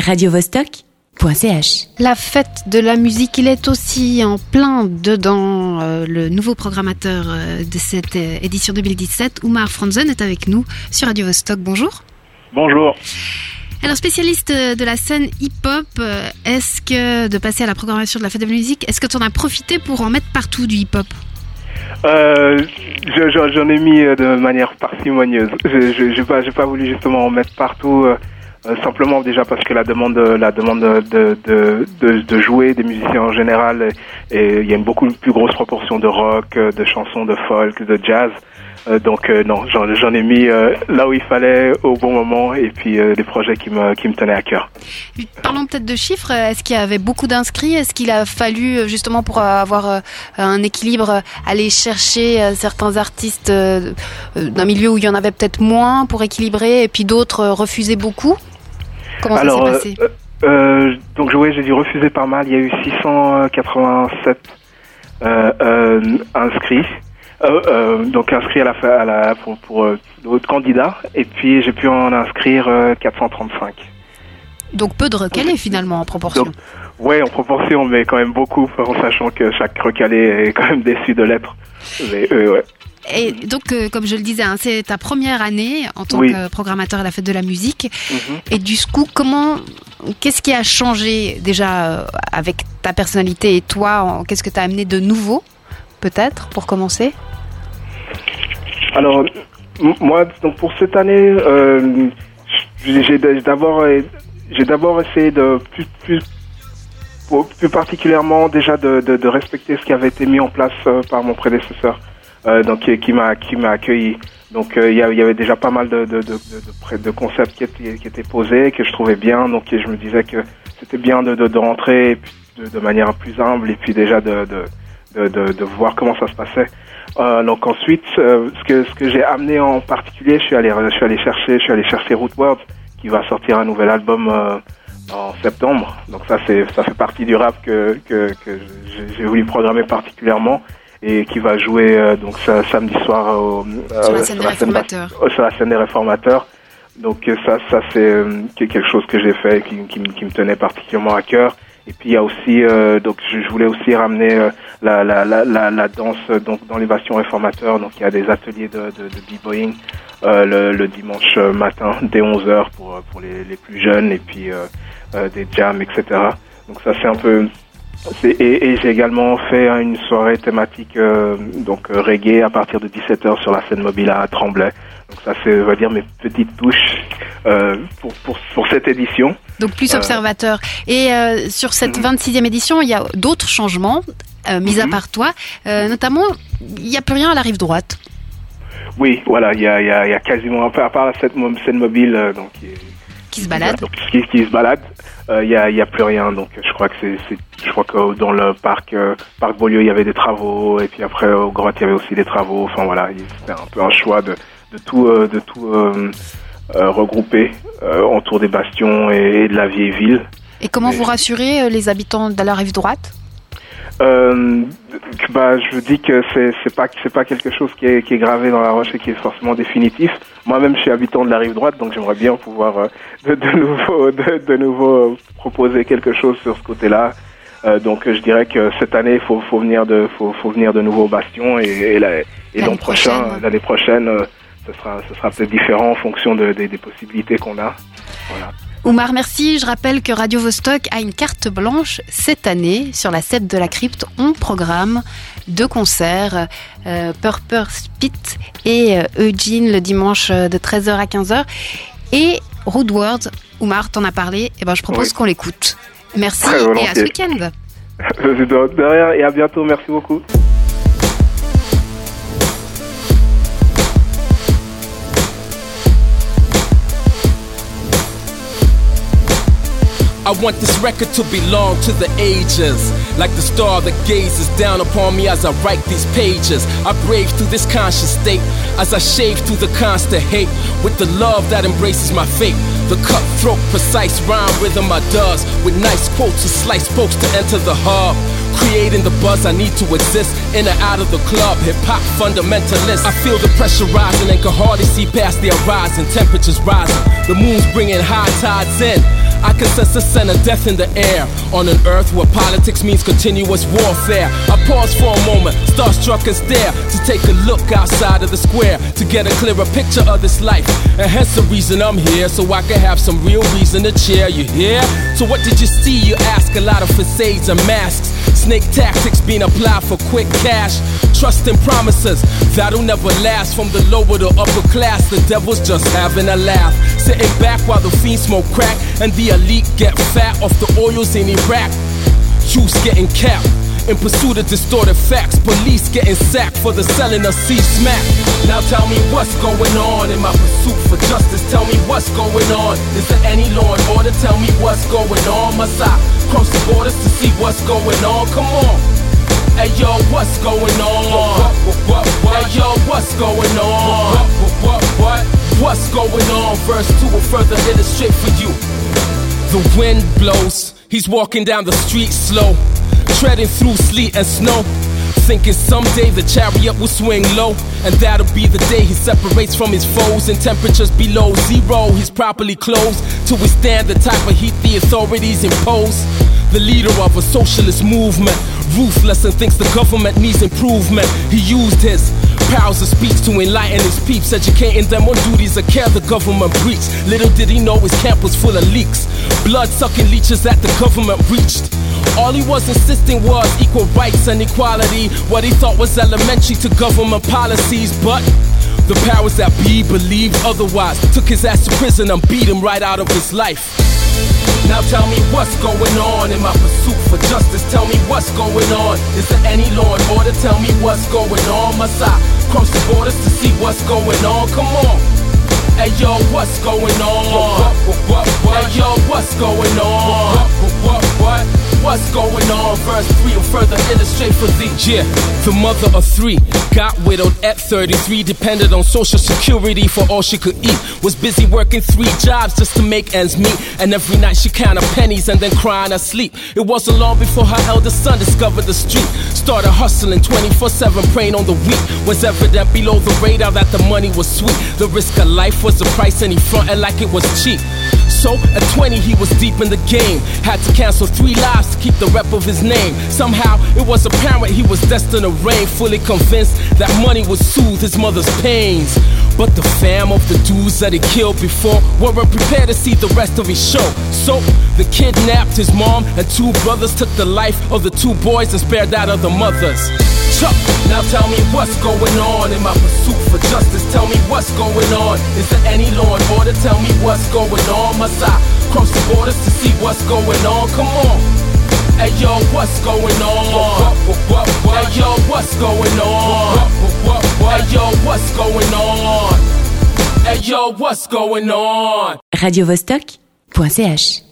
radiovostok.ch. La fête de la musique, il est aussi en plein dedans. Le nouveau programmateur de cette édition 2017, Oumar Franzen, est avec nous sur Radio Vostok. Bonjour. Bonjour. Alors, spécialiste de la scène hip-hop, est-ce que de passer à la programmation de la fête de la musique, est-ce que tu en as profité pour en mettre partout du hip-hop ? J'en ai mis de manière parcimonieuse. J'ai pas voulu justement en mettre partout, simplement déjà parce que la demande de jouer des musiciens en général, et il y a une beaucoup plus grosse proportion de rock, de chansons, de folk, de jazz. Donc non, j'en ai mis là où il fallait au bon moment, et puis des projets qui me tenaient à cœur. Parlons peut-être de chiffres. Est-ce qu'il y avait beaucoup d'inscrits ? Est-ce qu'il a fallu justement pour avoir un équilibre aller chercher certains artistes d'un milieu où il y en avait peut-être moins pour équilibrer, et puis d'autres refusaient beaucoup ? Comment ça s'est passé ? Donc j'ai dû refuser pas mal. Il y a eu 687 inscrits. Donc inscrit pour d'autres candidats, et puis j'ai pu en inscrire 435. Donc peu de recalés finalement en proportion. Ouais, en proportion, mais quand même beaucoup, en sachant que chaque recalé est quand même déçu de l'être. Mais ouais. Et donc, comme je le disais, c'est ta première année en tant que programmateur à la fête de la musique. Et du coup, qu'est-ce qui a changé déjà avec ta personnalité et toi ? Qu'est-ce que tu as amené de nouveau, peut-être, pour commencer ? Alors, moi, donc pour cette année, j'ai d'abord essayé de plus particulièrement déjà de respecter ce qui avait été mis en place par mon prédécesseur, donc qui m'a accueilli. Donc il y avait déjà pas mal de concepts qui étaient posés, que je trouvais bien. Donc je me disais que c'était bien de rentrer et puis de manière plus humble, et puis déjà de voir comment ça se passait. Donc ensuite, ce que j'ai amené en particulier, je suis allé chercher Rootwords, qui va sortir un nouvel album en septembre. Donc ça fait partie du rap que j'ai voulu programmer particulièrement, et qui va jouer donc samedi soir sur la scène des Réformateurs. Donc ça c'est quelque chose que j'ai fait, qui me tenait particulièrement à cœur. Et puis il y a aussi donc je voulais aussi ramener la danse donc dans les bastions réformateurs. Donc il y a des ateliers de b-boying le dimanche matin dès 11h pour les plus jeunes, et puis des jams, etc. Donc ça c'est un peu et j'ai également fait une soirée thématique donc reggae à partir de 17h sur la scène mobile à Tremblay. Donc ça c'est, on va dire, mes petites touches pour cette édition. Donc plus observateur. Et sur cette 26e édition, il y a d'autres changements, mis à part toi. Notamment, il n'y a plus rien à la rive droite. Oui, voilà, il y a quasiment, à part cette scène mobile donc qui se balade. Qui se balade. Il y a plus rien. Donc je crois que dans le parc Beaulieu, il y avait des travaux, et puis après au Grotte, il y avait aussi des travaux. Enfin voilà, c'était un peu un choix de tout regrouper autour des bastions et de la vieille ville. Et comment vous rassurez les habitants de la rive droite ? Je dis que c'est pas quelque chose qui est gravé dans la roche et qui est forcément définitif. Moi-même, je suis habitant de la rive droite, donc j'aimerais bien pouvoir de nouveau proposer quelque chose sur ce côté-là. Donc je dirais que cette année, faut venir de nouveau au bastion, et l'année prochaine, ce sera peut-être différent en fonction des possibilités qu'on a. Voilà. Oumar, merci. Je rappelle que Radio Vostok a une carte blanche cette année. Sur la scène de la crypte, on programme 2 concerts, Purple Spit et Eugene le dimanche de 13h à 15h. Et Rootwords, Oumar t'en a parlé, je propose qu'on l'écoute. Merci et à ce week-end. De rien, et à bientôt, merci beaucoup. I want this record to belong to the ages, like the star that gazes down upon me as I write these pages. I brave through this conscious state as I shave through the constant hate with the love that embraces my fate. The cutthroat, precise rhyme rhythm I does with nice quotes and slice spokes to enter the hub. Creating the buzz I need to exist in and out of the club. Hip-hop fundamentalist. I feel the pressure rising and can hardly see past the horizon. Temperatures rising, the moon's bringing high tides in. I can sense a scent of death in the air. On an earth where politics means continuous warfare. I pause for a moment, starstruck and stare, to take a look outside of the square, to get a clearer picture of this life. And hence the reason I'm here, so I can have some real reason to cheer. You hear? So what did you see? You ask. A lot of facades and masks, snake tactics being applied for quick cash. Trust in promises that'll never last. From the lower to upper class, the devil's just having a laugh, sitting back while the fiends smoke crack and the elite get fat off the oils in Iraq. Youths getting capped in pursuit of distorted facts. Police getting sacked for the selling of C-smack. Now tell me what's going on in my pursuit for justice. Tell me what's going on. Is there any law and order? Tell me what's going on. Must I cross the borders to see what's going on? Come on. Hey yo, what's going on? Hey yo, what's going on? What's going on? Verse 2 will further illustrate for you. The wind blows, he's walking down the street slow, treading through sleet and snow, thinking someday the chariot will swing low, and that'll be the day he separates from his foes. In temperatures below zero, he's properly clothed to withstand the type of heat the authorities impose. The leader of a socialist movement, ruthless and thinks the government needs improvement. He used his powers of speech to enlighten his peeps, educating them on duties of care the government breached. Little did he know his camp was full of leaks, blood-sucking leeches that the government reached. All he was insisting was equal rights and equality, what he thought was elementary to government policies. But the powers that be believed otherwise, took his ass to prison and beat him right out of his life. Now tell me what's going on in my pursuit for justice. Tell me what's going on. Is there any law and order? Tell me what's going on. Must I cross the borders to see what's going on? Come on. Hey yo, what's going on? Hey yo, what's going on? What's going on? Verse 3 will further illustrate for thee. Yeah, the mother of 3 got widowed at 33, depended on social security for all she could eat. Was busy working 3 jobs just to make ends meet, and every night she counted pennies and then crying her sleep. It wasn't long before her eldest son discovered the street, started hustling 24/7, preying on the weak. Was evident below the radar that the money was sweet. The risk of life was the price and he fronted like it was cheap. So at 20 he was deep in the game, had to cancel 3 lives to keep the rep of his name. Somehow it was apparent he was destined to reign, fully convinced that money would soothe his mother's pains. But the fam of the dudes that he killed before weren't prepared to see the rest of his show. So they kidnapped his mom and 2 brothers, took the life of the 2 boys and spared that of the mothers. Chuck, now tell me what's going on in my pursuit for justice. Tell me what's going on. Is there any law and order? Tell me what's going on. Must I cross the borders to see what's going on? Come on. Hey yo, what's going on? Hey yo, what's going on? Hey yo, what's going on? Hey yo, what's going on? RadioVostok.ch